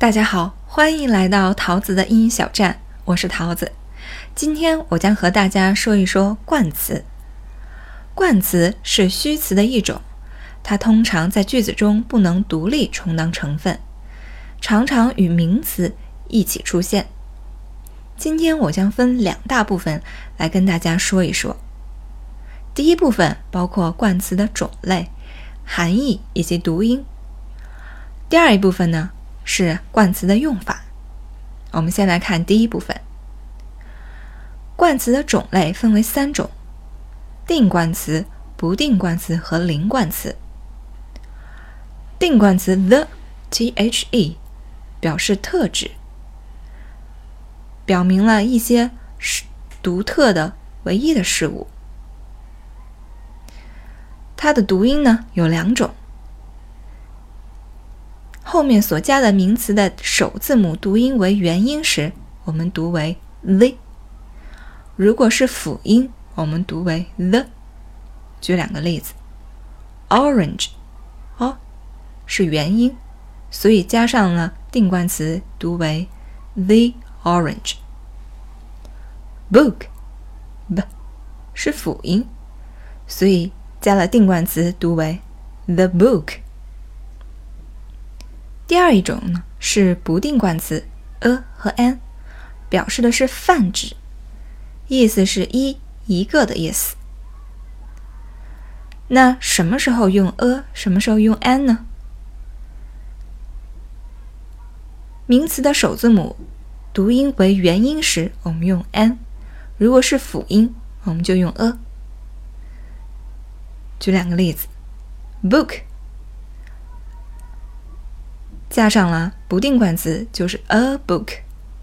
大家好，欢迎来到桃子的英语小站，我是桃子。今天我将和大家说一说冠词。冠词是虚词的一种，它通常在句子中不能独立充当成分，常常与名词一起出现。今天我将分两大部分来跟大家说一说。第一部分包括冠词的种类、含义以及读音。第二一部分呢，是冠词的用法。我们先来看第一部分。冠词的种类分为三种：定冠词、不定冠词和零冠词。定冠词 the 表示特指，表明了一些独特的唯一的事物。它的读音呢有两种，后面所加的名词的首字母读音为元音时，我们读为 the； 如果是辅音，我们读为 the。 举两个例子， orange 是元音，所以加上了定冠词读为 the orange。 book 是辅音，所以加了定冠词读为 the book。第二一种呢是不定冠词 a 和 an， 表示的是泛指，意思是一个的意思。那什么时候用 a， 什么时候用 an 呢？名词的首字母读音为元音时，我们用 an； 如果是辅音，我们就用 a。举两个例子， book加上了不定冠词就是 a book。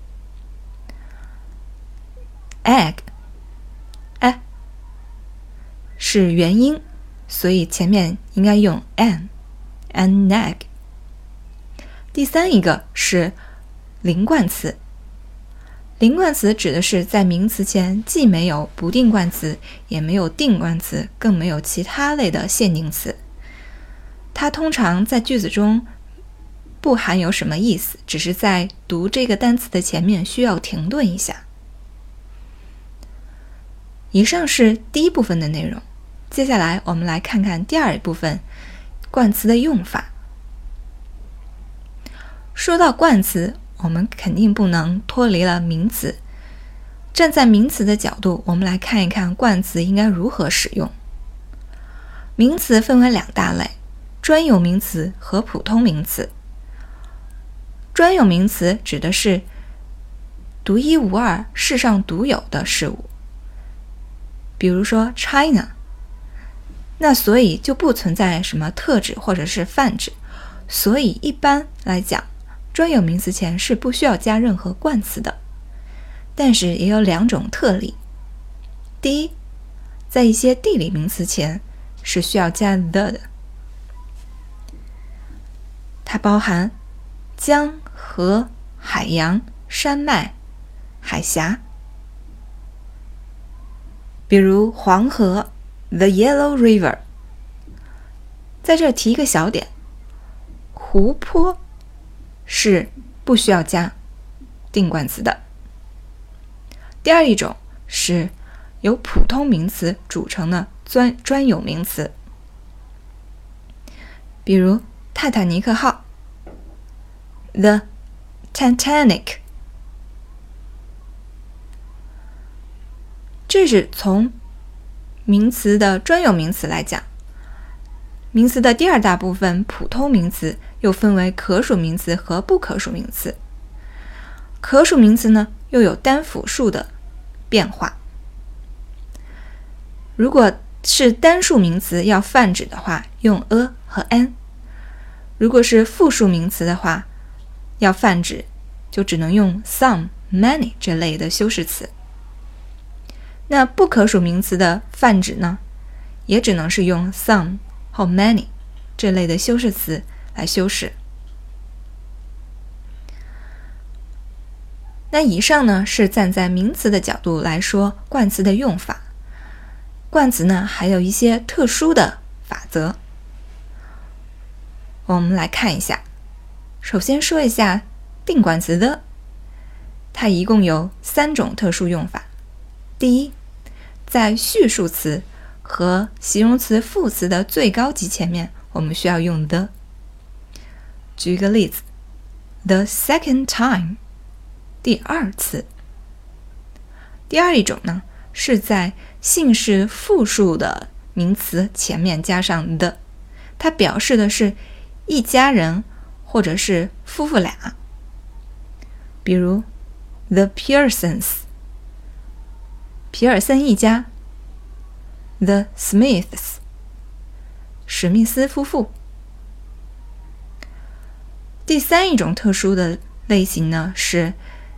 egg 是元音，所以前面应该用 an egg。 第三一个是零冠词。零冠词指的是在名词前既没有不定冠词，也没有定冠词，更没有其他类的限定词。它通常在句子中不含有什么意思，只是在读这个单词的前面需要停顿一下。以上是第一部分的内容，接下来我们来看看第二部分，冠词的用法。说到冠词，我们肯定不能脱离了名词。站在名词的角度，我们来看一看冠词应该如何使用。名词分为两大类，专有名词和普通名词。专有名词指的是独一无二、世上独有的事物，比如说 China， 那所以就不存在什么特指或者是泛指，所以一般来讲，专有名词前是不需要加任何冠词的。但是也有两种特例。第一，在一些地理名词前是需要加 the 的，它包含江、河、海洋、山脉、海峡。比如黄河 The Yellow River。 在这提一个小点，湖泊是不需要加定冠词的。第二一种是由普通名词组成的专有名词，比如泰坦尼克号 The Titanic。 这是从名词的专有名词来讲。名词的第二大部分普通名词又分为可数名词和不可数名词。可数名词呢又有单复数的变化。如果是单数名词要泛指的话，用 a 和 an； 如果是复数名词的话，要泛指就只能用 some、many 这类的修饰词。那不可数名词的泛指呢，也只能是用 some 或 many 这类的修饰词来修饰。那以上呢是站在名词的角度来说冠词的用法。冠词呢还有一些特殊的法则，我们来看一下。首先说一下定冠词 the， 它一共有3种特殊用法。第一，在序数词和形容词副词的最高级前面，我们需要用 the。 举一个例子， the second time， 第2次。第二一种呢，是在姓氏复数的名词前面加上 the， 它表示的是一家人或者是夫妇俩。比如 the Pearsons， 皮尔森一家， the Smiths， 史密斯夫妇。第3一种特殊的类型呢，是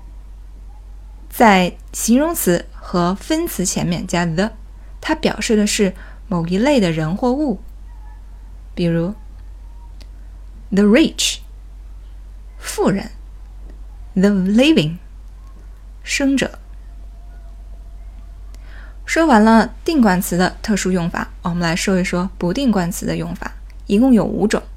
在形容词和分词前面加 the， 它表示的是某一类的人或物。比如 the rich， 富人， the living， 生者。说完了定冠词的特殊用法，我们来说一说不定冠词的用法，一共有5种。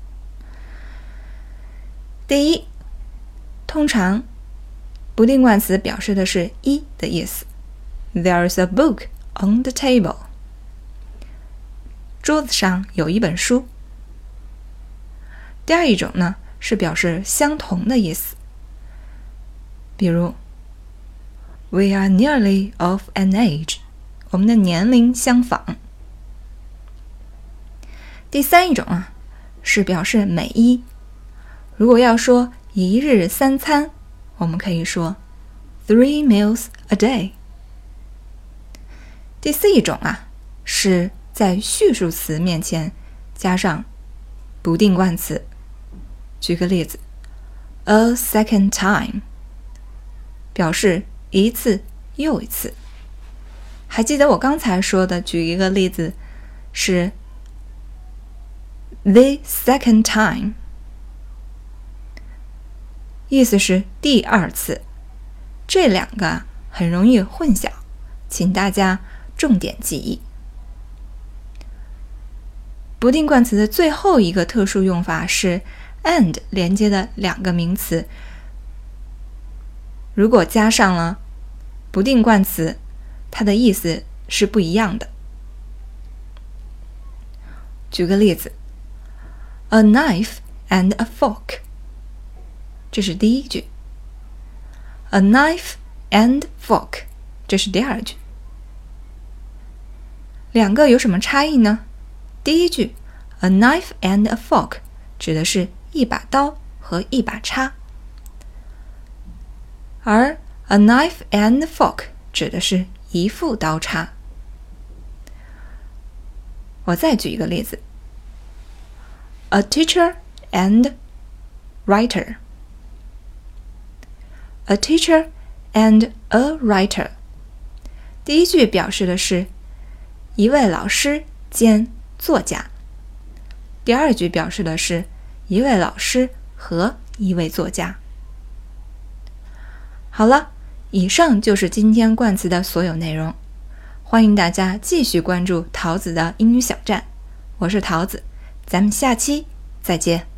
第一，通常不定冠词表示的是一的意思。 There's a book on the table， 桌子上有一本书。第二一种呢，是表示相同的意思。比如 We are nearly of an age， 我们的年龄相仿。第3一种啊，是表示每一。如果要说一日3餐，我们可以说 3 meals a day。 第4一种啊，是在序数词面前加上不定冠词。举个例子， a second time， 表示一次又一次。还记得我刚才说的，举一个例子是 the second time， 意思是第2次。这两个很容易混淆，请大家重点记忆。不定冠词的最后一个特殊用法是 and 连接的2个名词，如果加上了不定冠词，它的意思是不一样的。举个例子， a knife and a fork， 这是第一句。 a knife and fork， 这是第2句。两个有什么差异呢？第一句 a knife and a fork 指的是一把刀和一把叉，而 a knife and a fork 指的是一副刀叉。我再举一个例子， a teacher and writer， a teacher and a writer， 第一句表示的是一位老师兼作家，第2句表示的是一位老师和一位作家。好了，以上就是今天冠词的所有内容，欢迎大家继续关注桃子的英语小站，我是桃子，咱们下期再见。